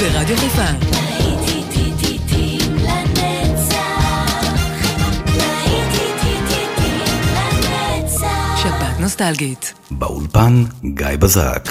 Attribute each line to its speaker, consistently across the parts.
Speaker 1: ברדיו חיפה. שבת נוסטלגית.
Speaker 2: באולפן גיא בזק.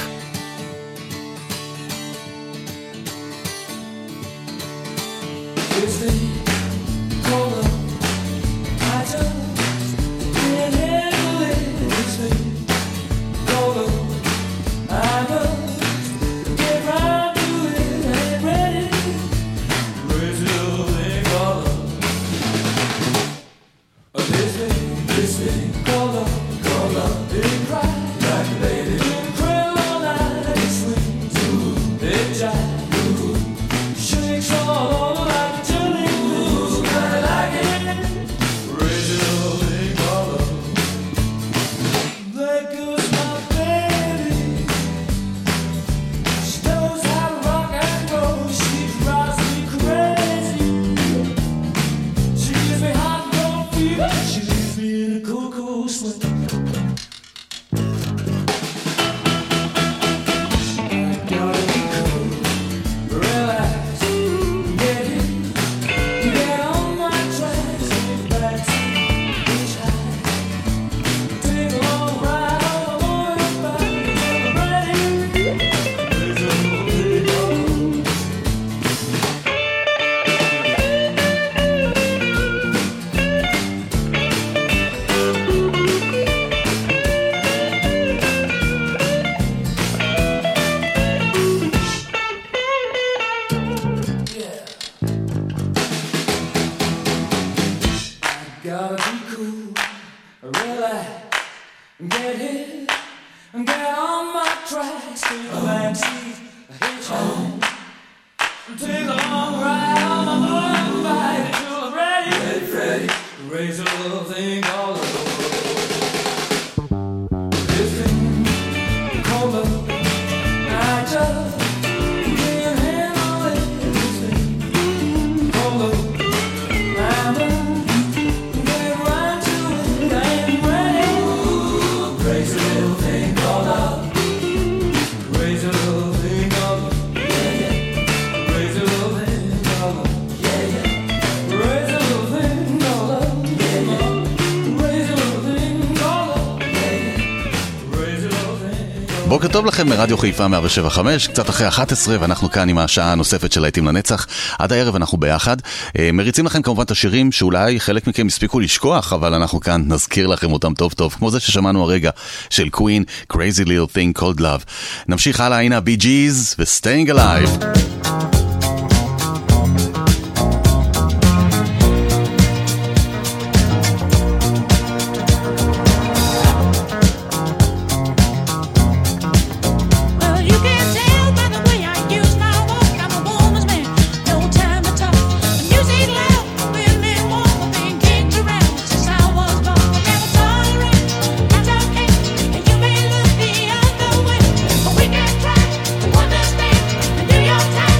Speaker 3: בוקר טוב לכם מרדיו חיפה 107.5, קצת אחרי 11, ואנחנו כאן עם השעה הנוספת של להיטים לנצח. עד הערב אנחנו ביחד. מריצים לכם כמובן את השירים שאולי חלק מכם הספיקו לשכוח, אבל אנחנו כאן נזכיר לכם אותם טוב טוב, כמו זה ששמענו הרגע של קווין, Crazy Little Thing Called Love. נמשיך הלאה, הנה בי ג'יז ו-Staying Alive.
Speaker 4: Your time.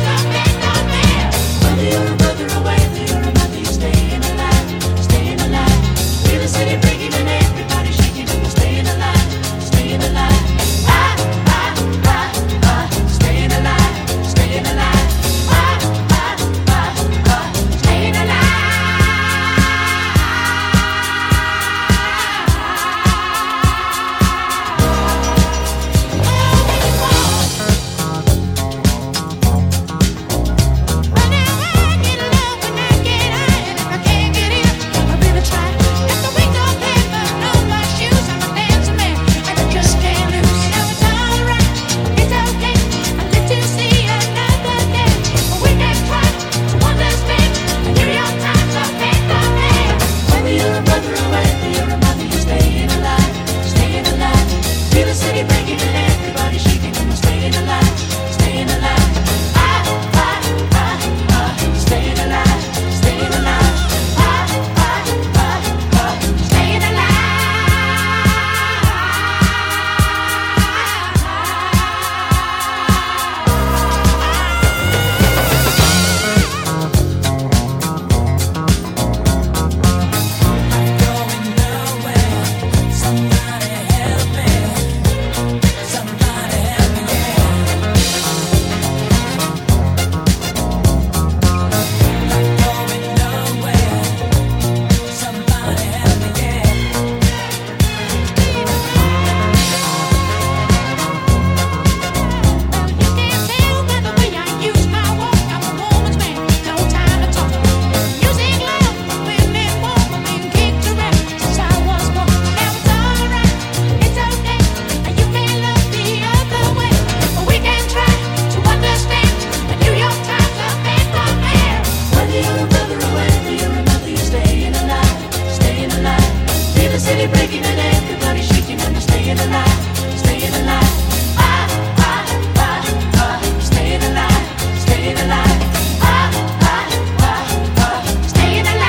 Speaker 1: breaking and everybody shaking and they're staying alive, staying alive. Staying alive, staying alive. Staying alive.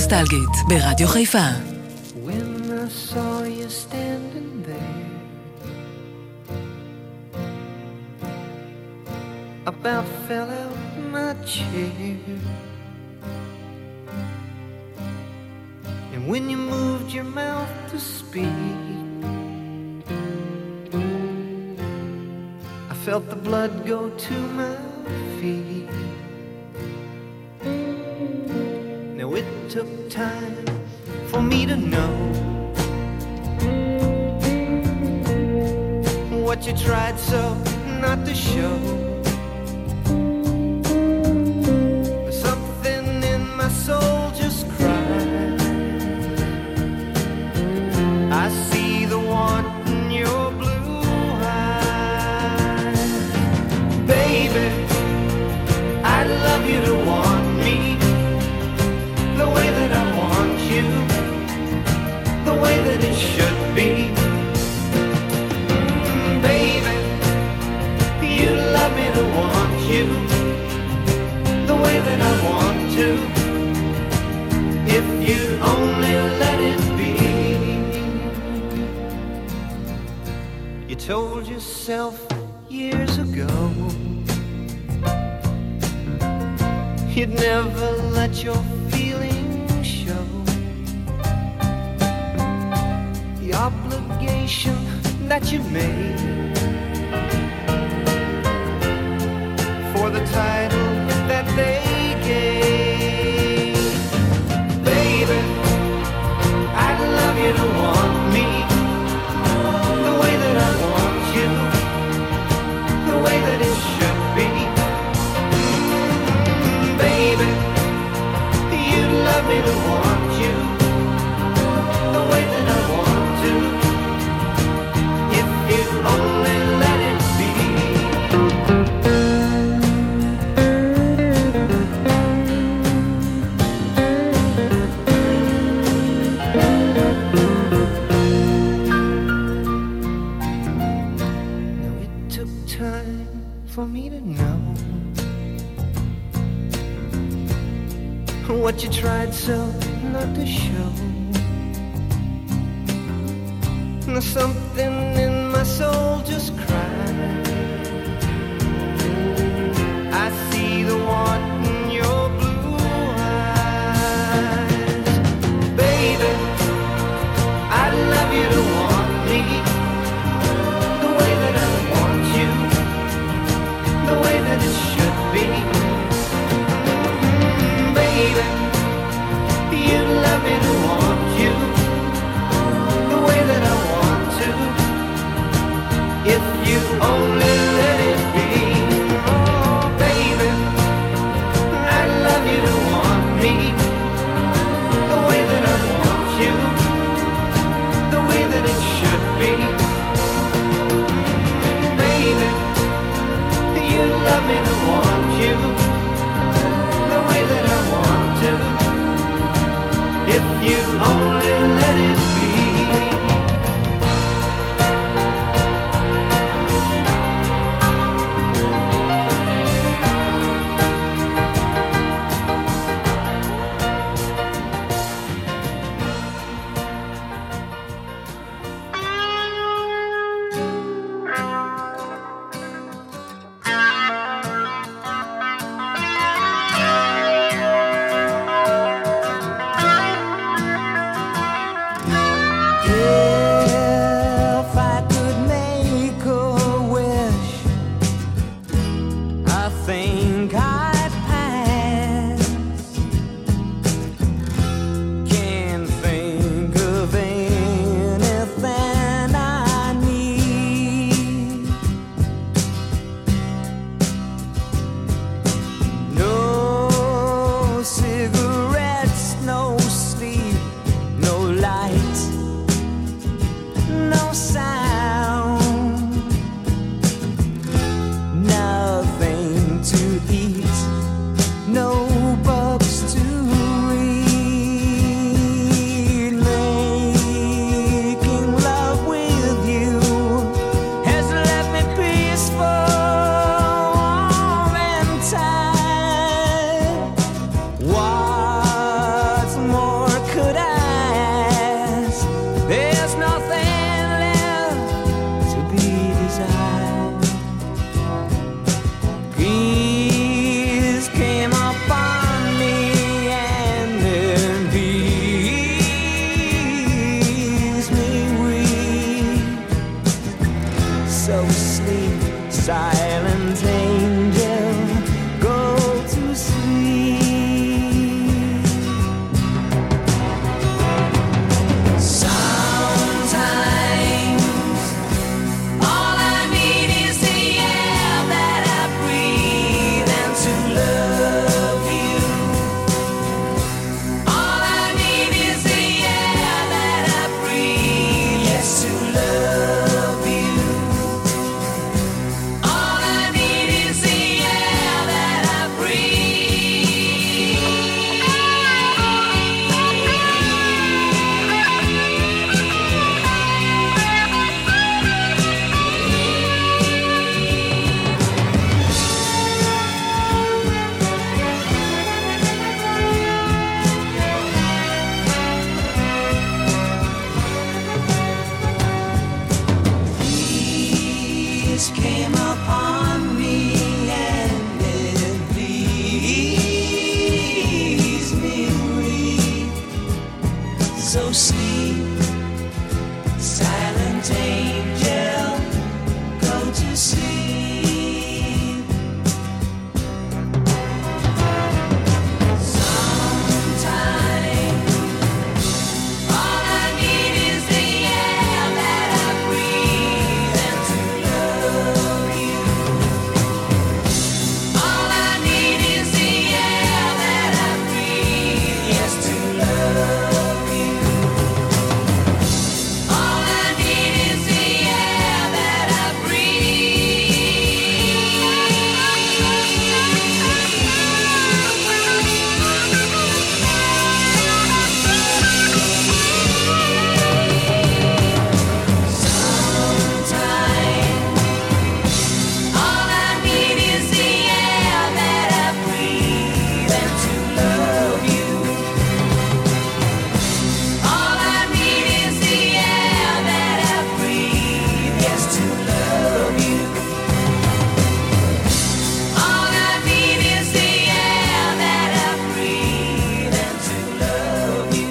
Speaker 4: נוסטלגית ברדיו חיפה.
Speaker 5: When I saw you standing there, about fell out my chair. And when you moved your mouth to speak, I felt the blood go to my feet. Now it took time for me to know what you tried so not to show. Something in my soul just cried. I see the want in your blue eyes. Baby, I'd love you to want me the way that I want you, the way that it should be. Baby, you love me to want you the way that I want to, if you only let it be. You told yourself years ago you'd never let your feelings show. The obligation that you made for the title that they gave. Baby, I'd love you to want me the way that I want you, the way that it should be. Baby, you'd love me to want you the way that I want to, if you only let it be. Now it took time for me to know what you tried so not to show. Now something in my soul just cried. I see the want in your blue eyes. Baby, I'd love you to want me the way that I want you, the way that it should be. Baby, you love me to want you the way that I want to, if you only let it be. Oh, baby,
Speaker 1: So sleep, silent angel, go to sleep. Sometime, all I need is the air that I breathe and to love you. All I need is the air that I breathe, yes, to love you. All I need is the air that I Sometime, all I need is the air that I breathe and to love you. All I need is the air that I breathe, yes, to love you. All I need is the air that I breathe and to love you.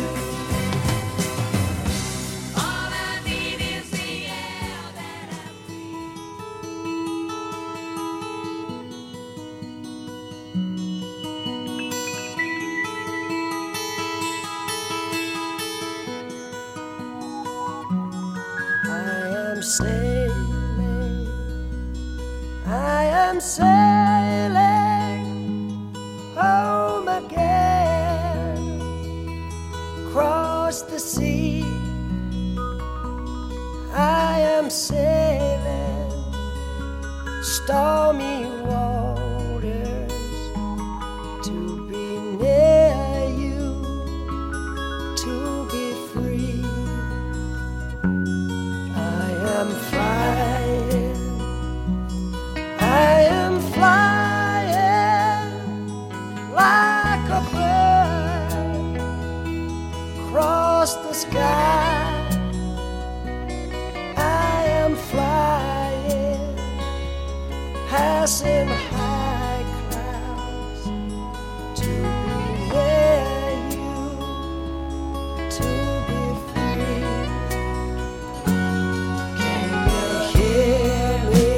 Speaker 1: All I need is the air that I
Speaker 5: I am sailing home again, across the sea. I am sailing stormy waters to be near you, to be free. I am flying, I am flying like a bird across the sky. I am flying, passing high clouds to be near you, to be free. Can you hear me?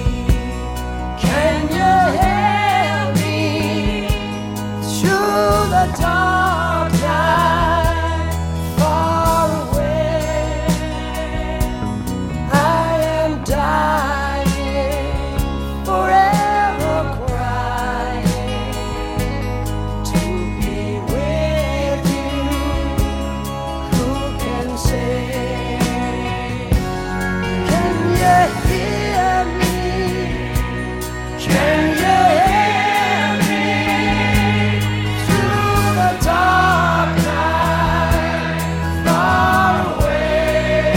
Speaker 5: Can you hear me through the dark night, far away? I am dying, forever crying to be with you. Who can say? Can you hear me? Can you hear me through the dark night, far away?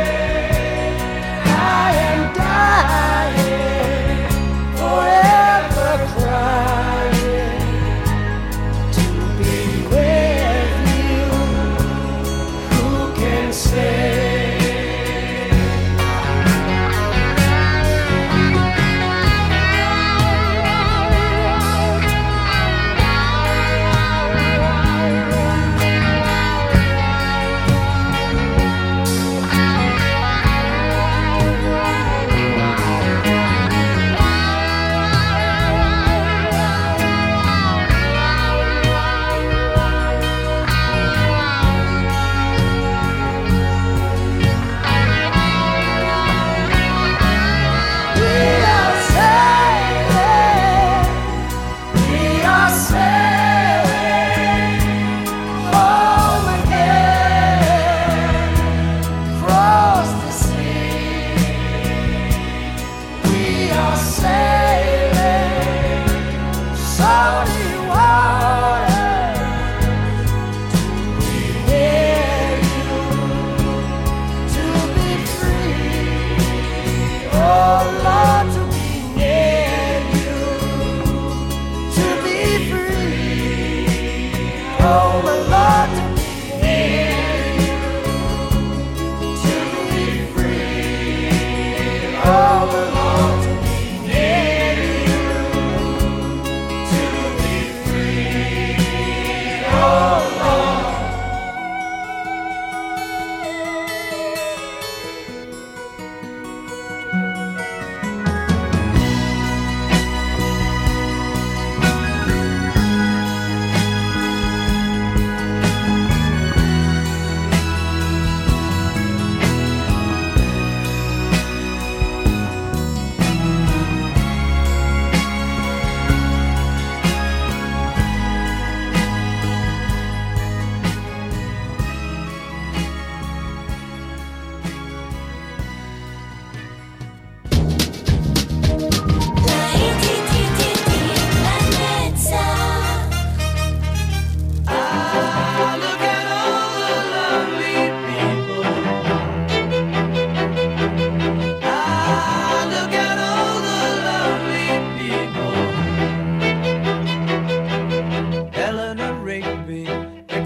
Speaker 5: I am dying, forever crying to be with you. Who can say?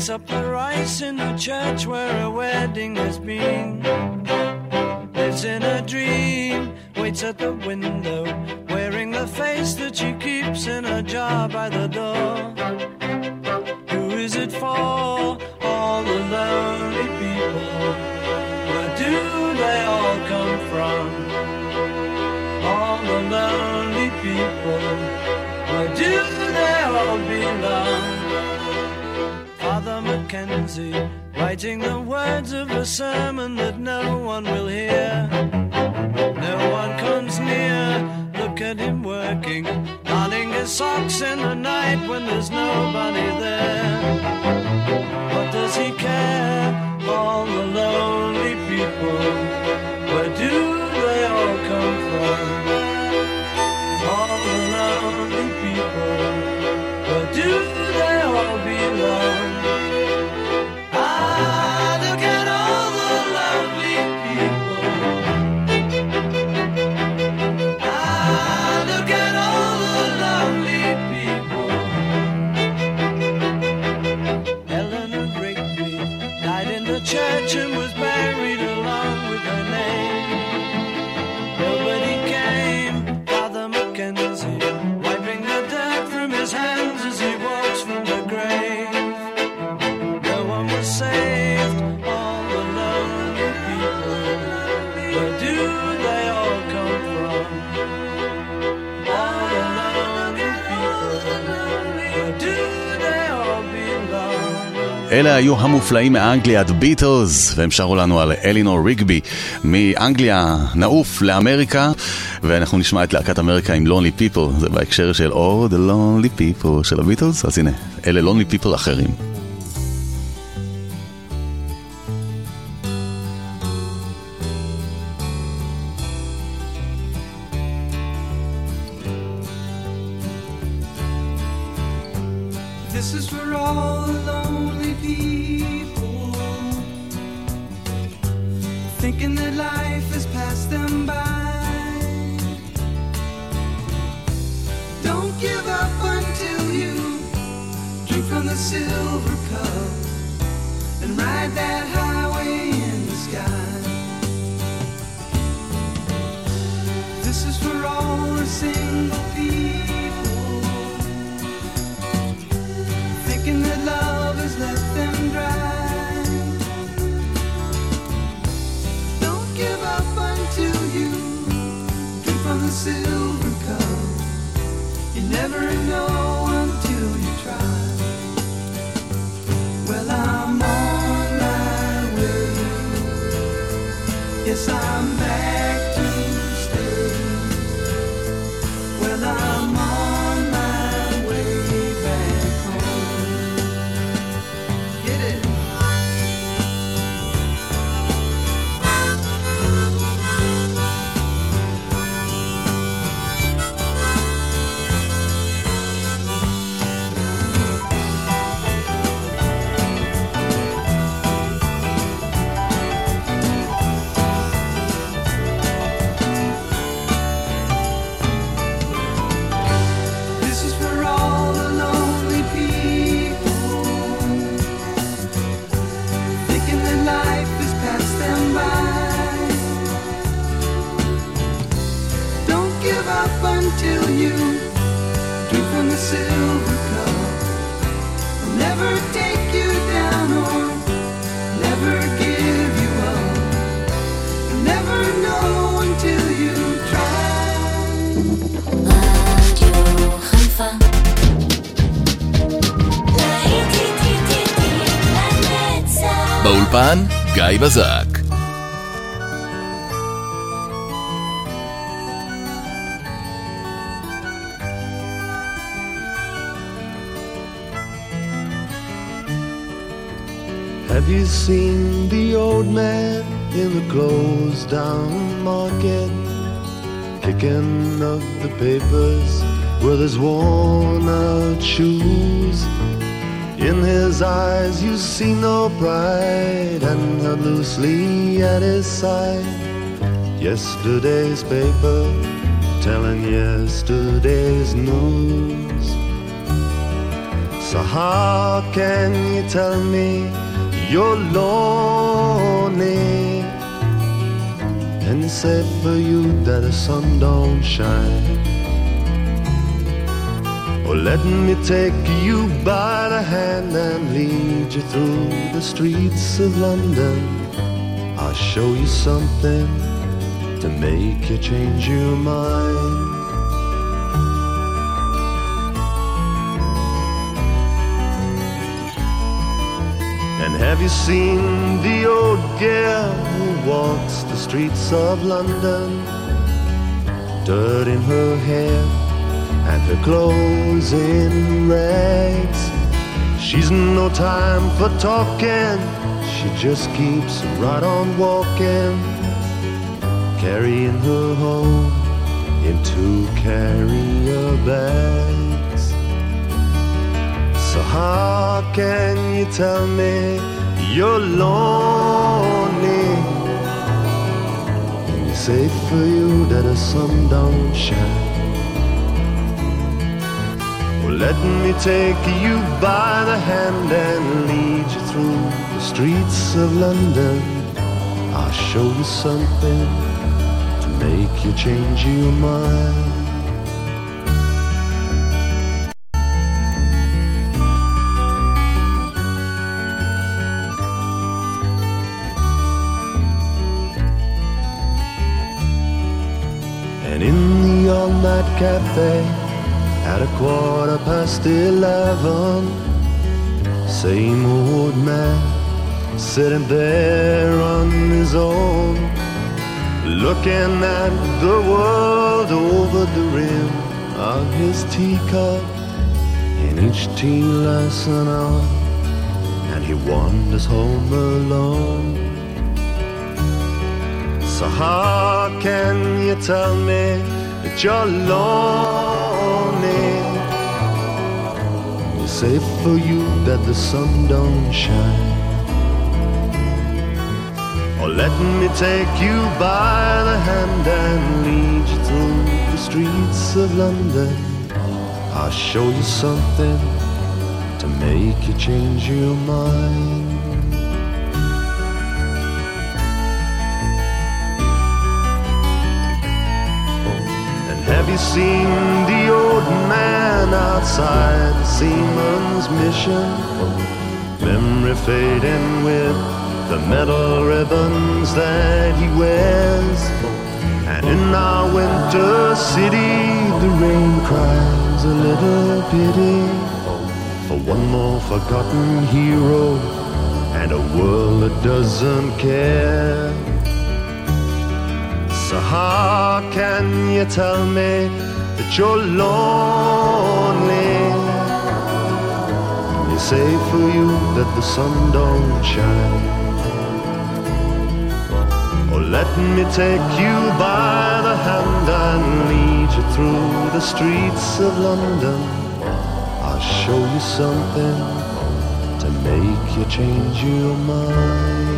Speaker 4: Picks up the rice in the church where a wedding has been. Lives in a dream, waits at the window, wearing the face that she keeps in a jar by the door. Who is it for? All the lonely people. Where do they all come from? All the lonely people. Where do they all belong? Father Mackenzie, writing the words of a sermon that no one will hear. No one comes near, look at him working, darning his socks in the night when there's nobody there. What does he care? All the lonely people, where do they all come from? All the lonely people, where do they all belong? Look at all the lovely people. Look at all the lovely people. Eleanor Rigby died in the church and was buried along with her name. Nobody came, Father Mackenzie, wiping the dirt from his hands as he walks from the grave. No one was saved, all the lonely people. Where do they all come from? All the lonely people. Where do they all belong?
Speaker 3: אלה היו המופלאים מאנגליה, The Beatles, והם שרו לנו על אלינור ריגבי. מאנגליה נעוף לאמריקה, ואנחנו נשמע את להקת אמריקה עם Lonely People, זה בהקשר של Oh, the Lonely People של הביטלס, אז הנה, אלה Lonely People אחרים.
Speaker 4: This is for all the lonely people, thinking that life has passed them by. Don't give up until you drink from the silver cup and ride that highway in the sky. This is for all the single people, thinking that love has left them dry. Don't give up until you drink from the silver cup. You never know until you try. Well, I'm on my way. Yes, I'm back to stay. Well, I'm on my way back home. Get it? This is for all the lonely people, thinking that life has passed them by. Don't give up until you drink from the silver cup. I'll never take you down or never give you up. You'll never know until you try.
Speaker 1: רדיו חיפה לנצח.
Speaker 2: באולפן גיא בזק.
Speaker 5: Have you seen the old man in the closed down market, picking up the papers with his worn out shoes? In his eyes you see no pride, and held loosely at his side yesterday's paper, telling yesterday's news.
Speaker 6: So how can you tell me you're lonely? And it's safe for you that the sun don't shine. Oh, let me take you by the hand and lead you through the streets of London. I'll show you something to make you change your mind. And have you seen the old girl who walks the streets of London? Dirt in her hair and her clothes in rags. She's no time for talking, she just keeps right on walking, carrying her home in 2 carrier bags. So how can you tell me you're lonely? And it's safe for you that the sun don't shine. Well, let me take you by the hand and lead you through the streets of London. I'll show you something to make you change your mind. And in the all-night cafe at 11:15, same old man sitting there on his own, looking at the world over the rim of his teacup. And each tea lasts an hour, and he wanders home alone. So how can you tell me that you're lonely? It's safe for you that the sun don't shine. Or let me take you by the hand and lead you through the streets of London. I'll show you something to make you change your mind. Have you seen the old man outside the Seaman's Mission? Memory fading with the metal ribbons that he wears. And in our winter city, the rain cries a little pity for one more forgotten hero and a world that doesn't care. So how can you tell me that you're lonely? It's safe for you that the sun don't shine. Or let me take you by the hand and lead you through the streets of London. I'll show you something to make you change your mind.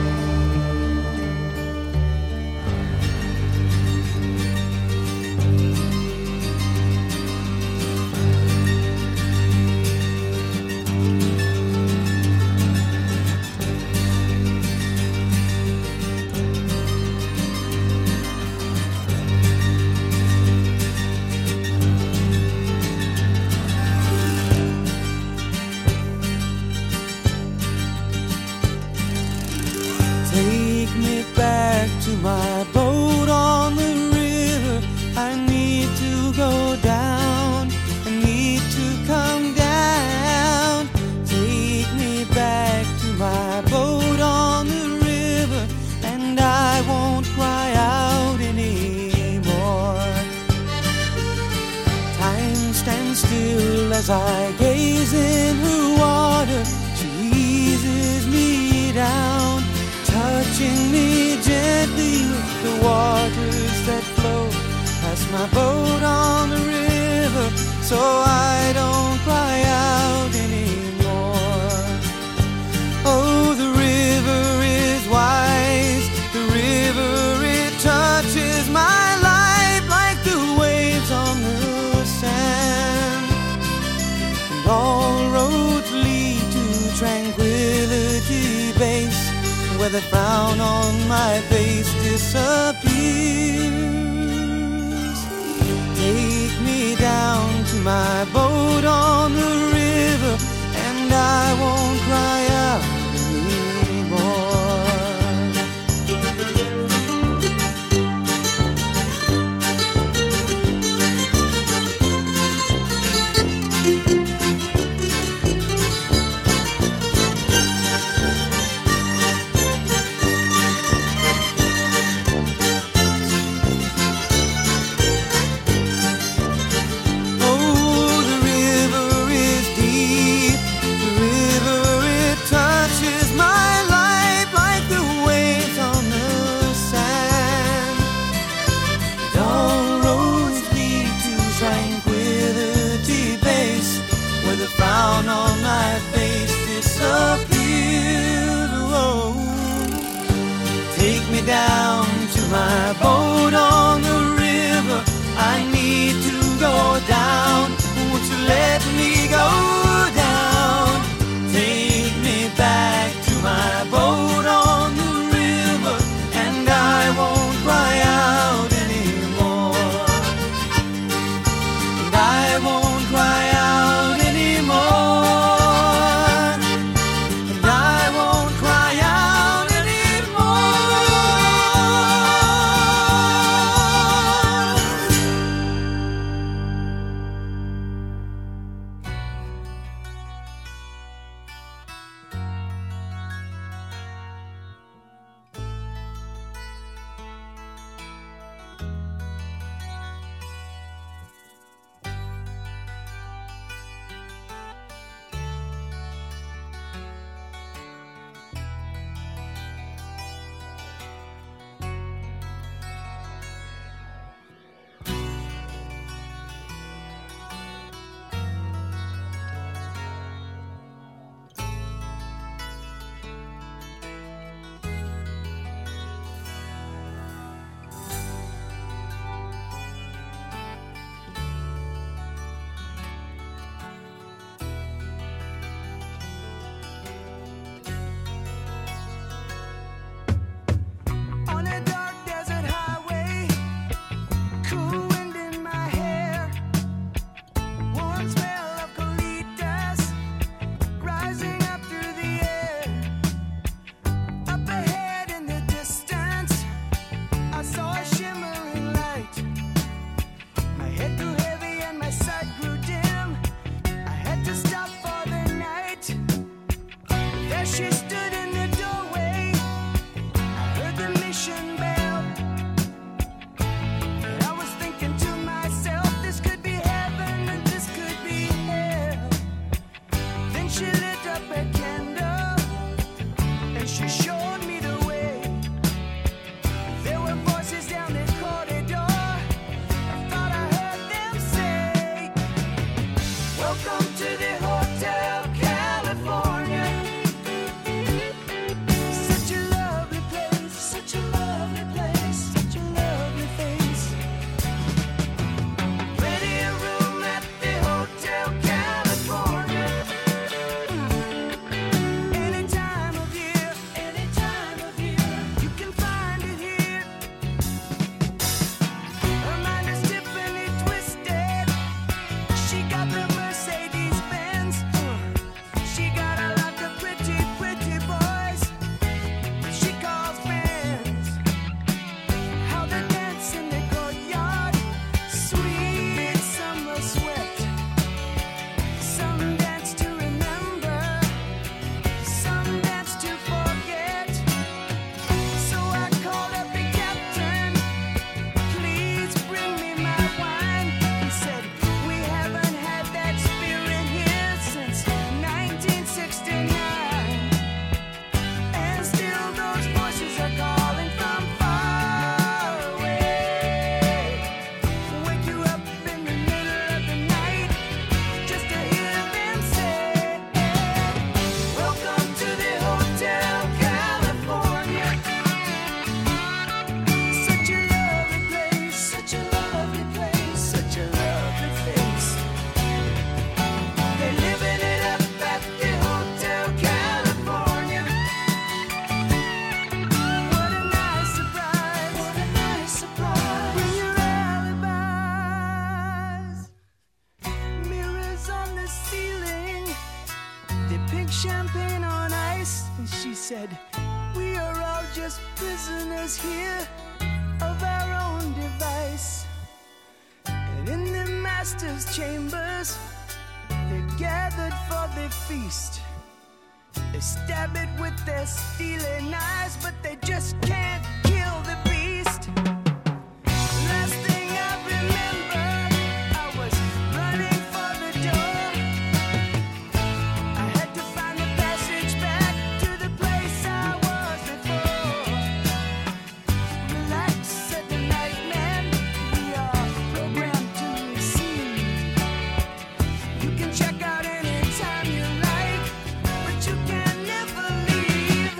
Speaker 4: As I gaze in her water, she eases me down, touching me gently with the waters that flow past my boat on the river, so I don't cry out anymore. Oh, the river is wise, the river, it touches my life like the waves on the sand. All roads
Speaker 7: tranquility base, where the frown on my face disappears. Take me down to my boat on the river, and I won't cry out anymore. Down to my boat on the river, I need to go down. Won't you let me go down? Take me back to my boat on the river, and I won't cry out anymore. And I won't cry out anymore. And I won't cry out anymore. Welcome to the Hotel California. said, we are all just prisoners here of our own device. And in the master's chambers, they gathered for the feast. They stab it with their steely knives, but they just can't kill the beast. Last thing I remember, I was running for the door. I had to find the passage back to the place I was before. Relax, said the night man, we are programmed to receive. You can check out anytime you like, but you can never leave.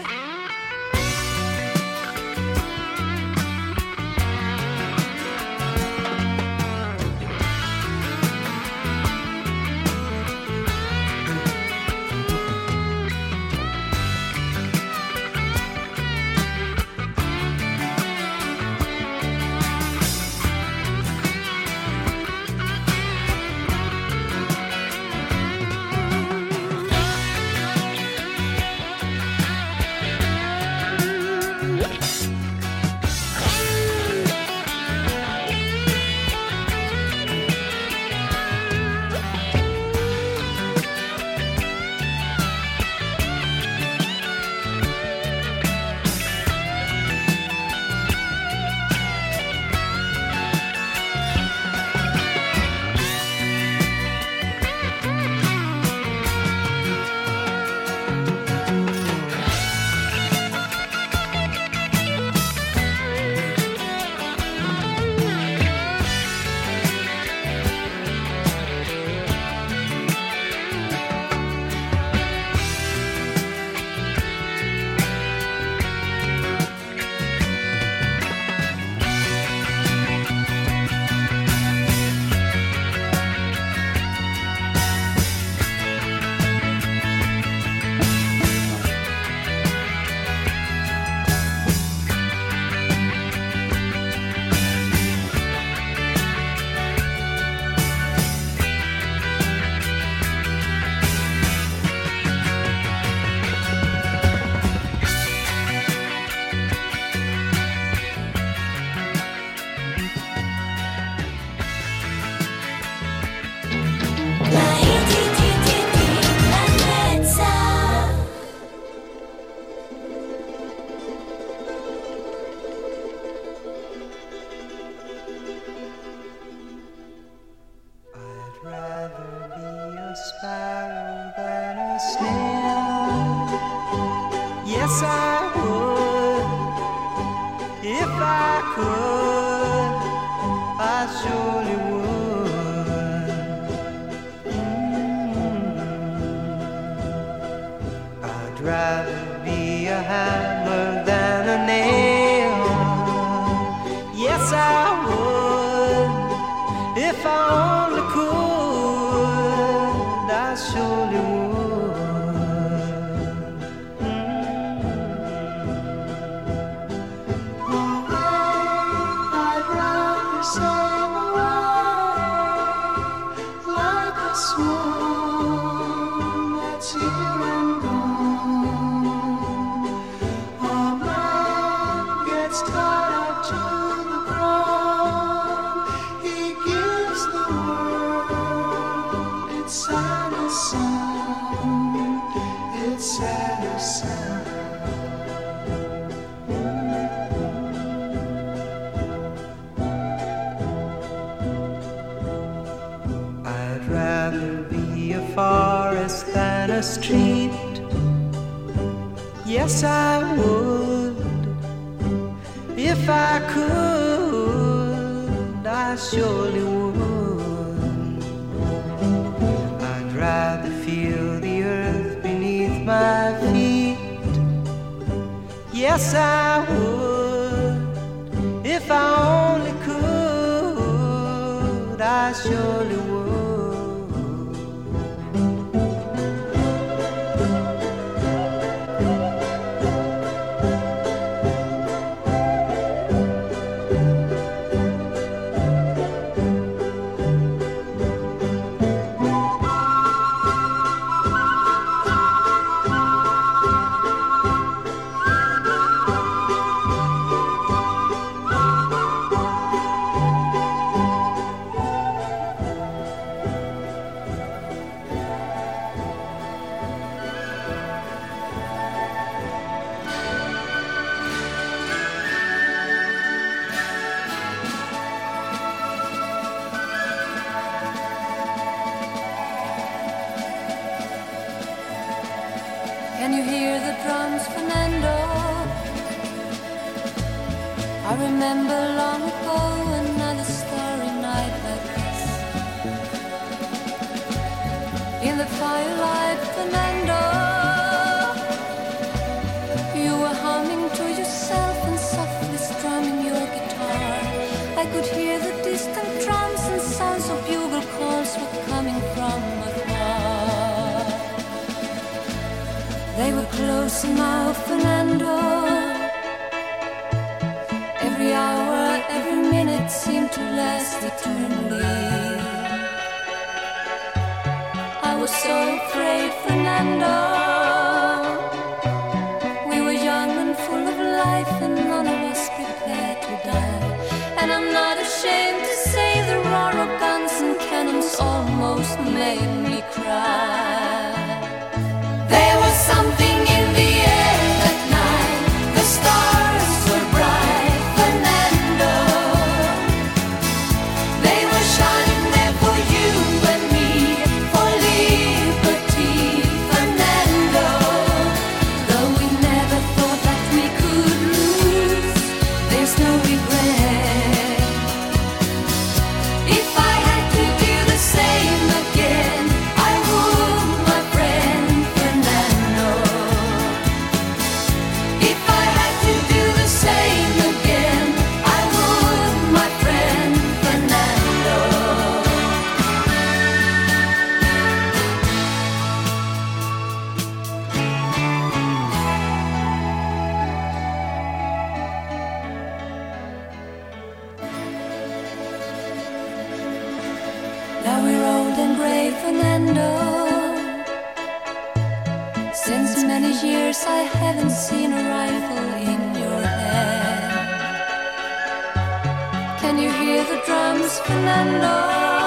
Speaker 5: sparrow than a snail. Yes, I would. If I could, I surely would. I'd rather be a hammer than a nail. Yes, I would. If I only could, I surely would.
Speaker 7: I'd rather sail away like a swan that's here and gone. A man gets tied up to the ground. He gives the world its saddest sound, its saddest sound.
Speaker 5: I'd rather be a forest than a street. Yes, I would. If I could, I surely would. I'd rather feel the earth beneath my feet. Yes, I would. If I only could, I surely would.
Speaker 8: drums, Fernando. I remember long ago another starry night like this. In the firelight, Fernando, you were humming to yourself and softly strumming your guitar. I could hear the distant drums and sounds of bugle calls were coming from afar. They were closer now, Fernando. Every hour, every minute seemed to last eternally. I was so afraid, Fernando. We were young and full of life and none of us prepared to die. And I'm not ashamed to say the roar of guns and cannons almost made me cry. There was something in the air that night. The stars were bright, Fernando. They were shining there for you and me, for liberty, Fernando. Though we never thought that we could lose, there's no regret. If I had to do the same again, I would, my friend Fernando. If I had to do the same again, I would, my friend Fernando. Now we're old and gray, Fernando. Since many years I haven't seen a rifle in your hand. Can you hear the drums, Fernando?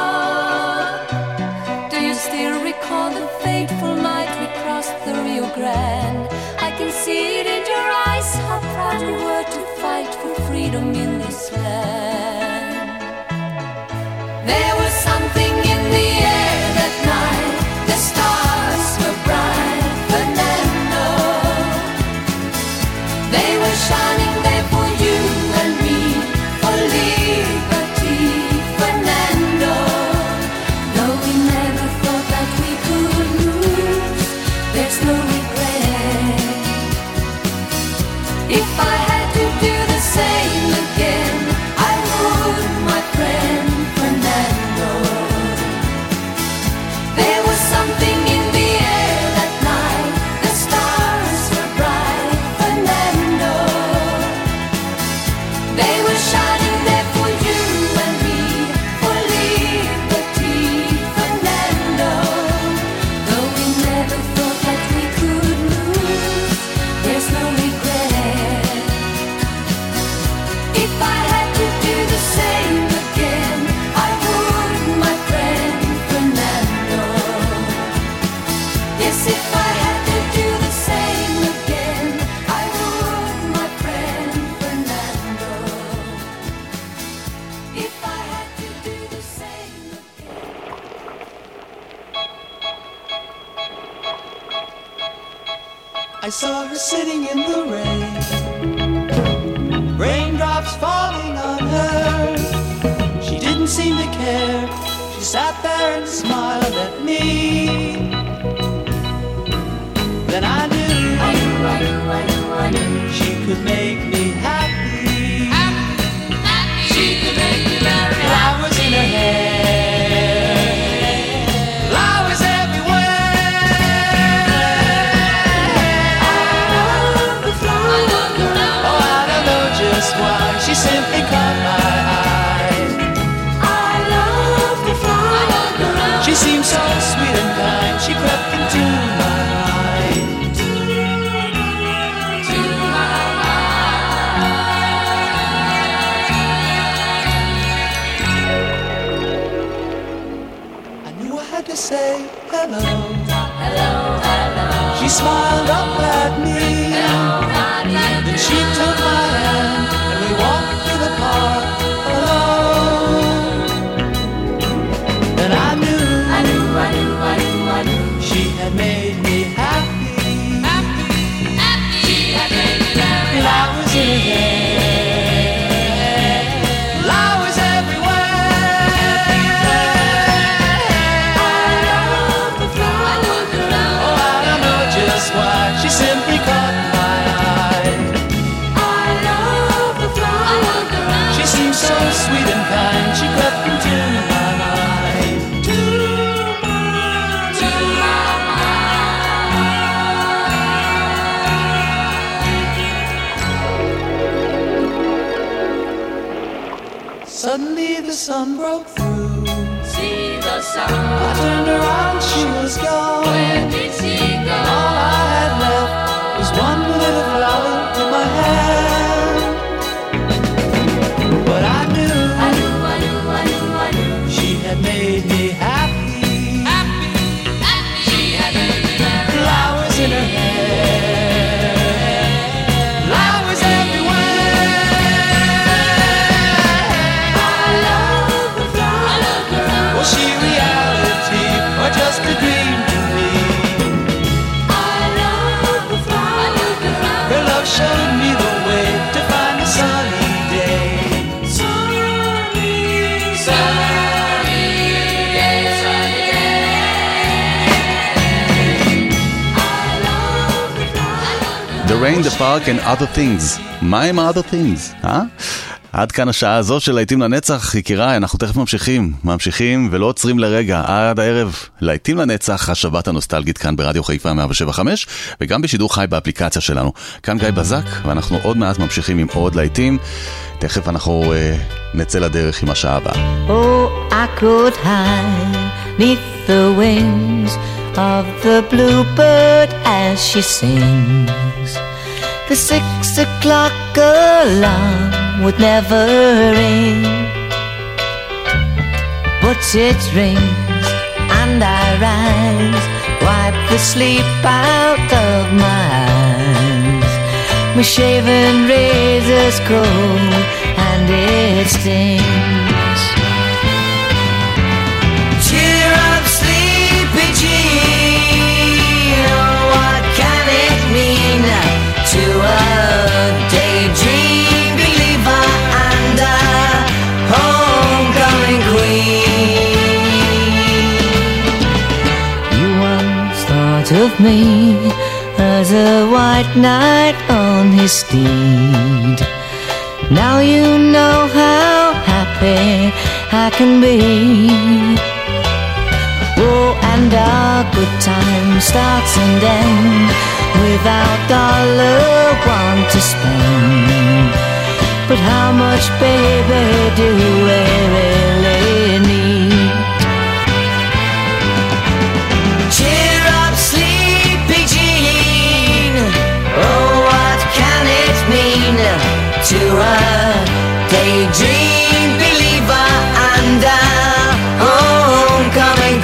Speaker 8: Do you still recall the fateful night we crossed the Rio Grande? I can see it in your eyes, how proud you were to fight for freedom in this land. There was something in the air that night. The stars were bright, Fernando. They were shining there for you and me, for liberty, Fernando. Though we never thought that we could lose, there's no regret. If I had to do the same again, I would, my friend Fernando. There was something in the air that night. The stars were bright, Fernando. They were shining there for you and me, for liberty, Fernando. Though we never thought that we could lose, there's no regret. If I had to do the same again, I would, my friend Fernando. Yes, if I had to do the same again, I would, my friend Fernando. If I had to do the same again.
Speaker 7: I saw her sitting in the rain, raindrops falling on her. She didn't seem to care. She sat there and smiled at me. Then I knew she could make me happy. She could make me very happy. Flowers in her hair, flowers everywhere. I love the flower girl. Oh, I don't know just why. She simply caught my eye. I love the flower girl. She seemed so sweet and kind. She in her hair, flowers everywhere. I love the flowers. Oh, I don't know just why, she simply caught my eye. I love the flowers. She seemed so sweet and kind, she crept into my mind. Suddenly the sun broke through.
Speaker 8: See the sun.
Speaker 7: I turned around, she was gone.
Speaker 8: Where did she go?
Speaker 7: All I had left was one little flower in my hand. But I knew she had made me happy.
Speaker 8: She had made me very
Speaker 7: Flowers in her hair, flowers everywhere.
Speaker 8: I love the flowers.
Speaker 7: Was she reality or just a dream to me?
Speaker 8: I love the flowers.
Speaker 7: Her love showed me the way to find a sunny day.
Speaker 3: The Rain, the Park and Other Things. מה עם other things? עד כאן השעה הזו של להיטים לנצח, יקיריי, אנחנו תכף ממשיכים ולא עוצרים לרגע, עד הערב, להיטים לנצח, השבת הנוסטלגית כאן ברדיו חיפה 107.5, וגם בשידור חי באפליקציה שלנו. כאן גיא בזק, ואנחנו עוד מעט ממשיכים עם עוד להיטים, תכף אנחנו נצא לדרך עם השעה הבאה.
Speaker 9: Oh, I could hide neath the wings of the bluebird as she sings. The 6 o'clock alarm would never ring, but it rings and I rise, wipe the sleep out of my eyes. My shaven razor's cold and it stings. Cheer up, sleepy Jean, oh, what can it mean to a daydream believer and a homecoming queen? You once thought of me as a white knight on his steed. Now you know how happy I can be. Oh, and our good time starts and ends without $1 to spend. But how much, baby, do we really need? Cheer up, sleepy Jean, oh, what can it mean to a daydream believer and a homecoming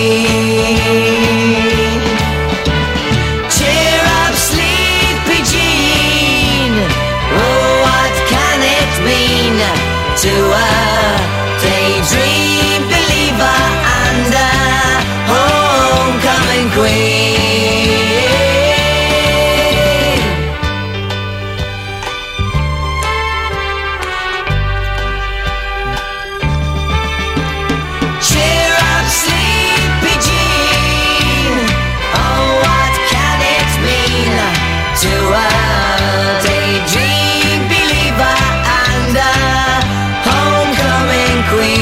Speaker 9: queen? Cheer up, sleepy Jean, oh, what can it mean to a daydream believer and a homecoming queen? Cheer up, sleepy Jean, oh, what can it mean to a daydream believer and a homecoming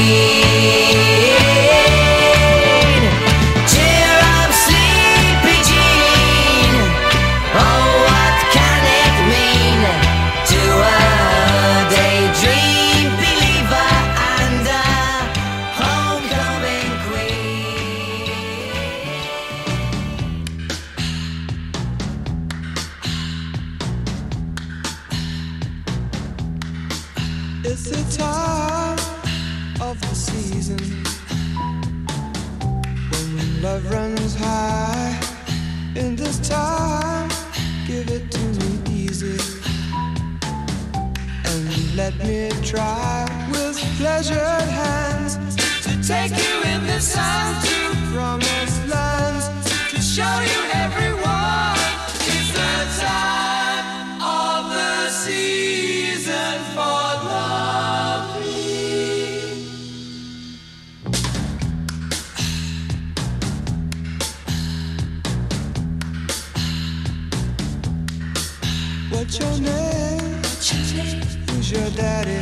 Speaker 9: queen? Cheer up, sleepy Jean, oh, what can it mean to a daydream believer and a homecoming queen?
Speaker 4: It's the time of the season when love runs high. In this time, give it to me easy and let me try with pleasured hands to take you in the sun to promised lands, to show you everyone. It's the time of the season. What's your name? Who's your daddy?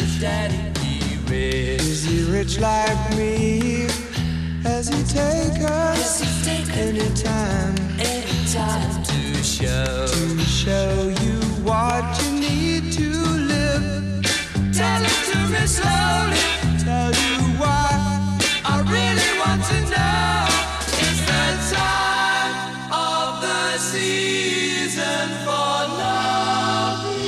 Speaker 4: Is he rich like me? Has he take us anytime to show you what you need to live? Tell it to me slowly. Tell you why I really want to know. It's the time of the season for loving.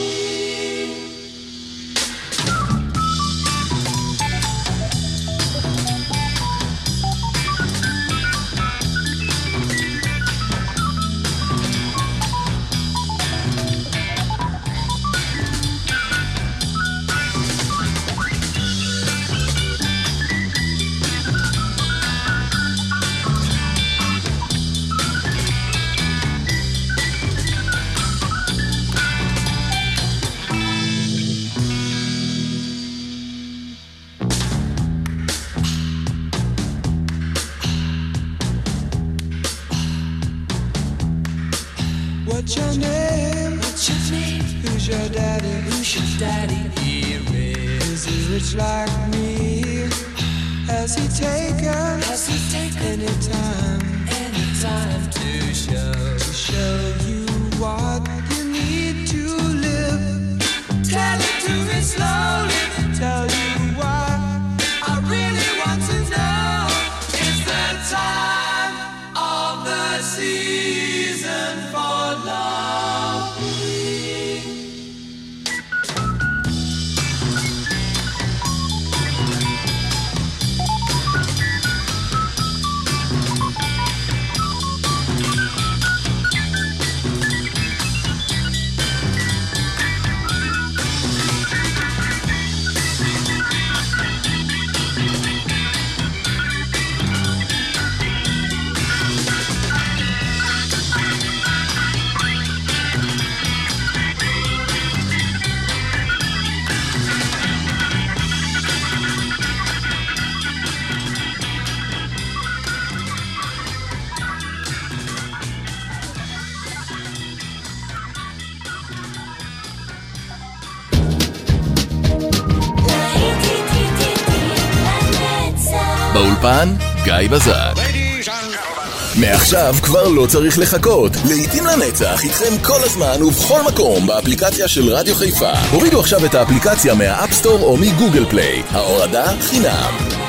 Speaker 4: What's your name? Who's your daddy? Is he rich like me? Has he taken anytime to show you what you need to live? Tell it to me slowly. Tell you why I really want to know. It's the time of the season for loving.
Speaker 2: באולפן גיא בזק. מעכשיו כבר לא צריך לחכות. לעתים לנצח איתכם כל הזמן ובכל מקום באפליקציה של רדיו חיפה. הורידו עכשיו את האפליקציה מהאפסטור או מגוגל פליי. ההורדה חינם.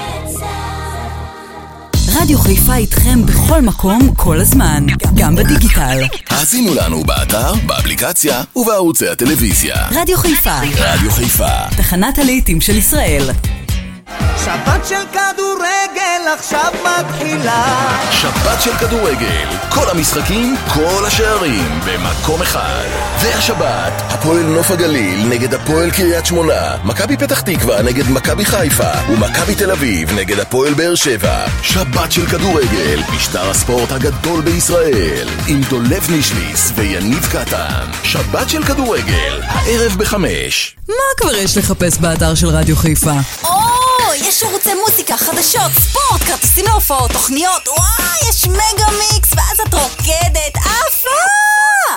Speaker 10: רדיו חיפה איתכם בכל מקום כל הזמן, גם בדיגיטל.
Speaker 2: האזינו לנו באתר, באפליקציה ובערוצי הטלוויזיה.
Speaker 10: רדיו חיפה.
Speaker 2: רדיו חיפה.
Speaker 10: תחנת הלהיטים של ישראל.
Speaker 7: שבת של כדורגל עכשיו מתחילה.
Speaker 2: שבת של כדורגל, כל המשחקים, כל השערים במקום אחד. והשבת, הפועל נוף הגליל נגד הפועל קריית שמונה, מכבי פתח תקווה נגד מכבי חיפה ומכבי תל אביב נגד הפועל באר שבע. שבת של כדורגל, משטר הספורט הגדול בישראל, עם דולב נישליס ויניב קטן. שבת של כדורגל, הערב ב5.
Speaker 10: מה כבר יש לחפש באתר של רדיו חיפה?
Speaker 11: יש ערוצי מוזיקה, חדשות, ספורט, כרטיסים להופעות, תוכניות, וואי, יש מגה מיקס, ואז את רוקדת, עפה!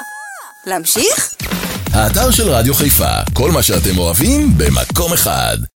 Speaker 11: להמשיך?
Speaker 2: האתר של רדיו חיפה, כל מה שאתם אוהבים במקום אחד.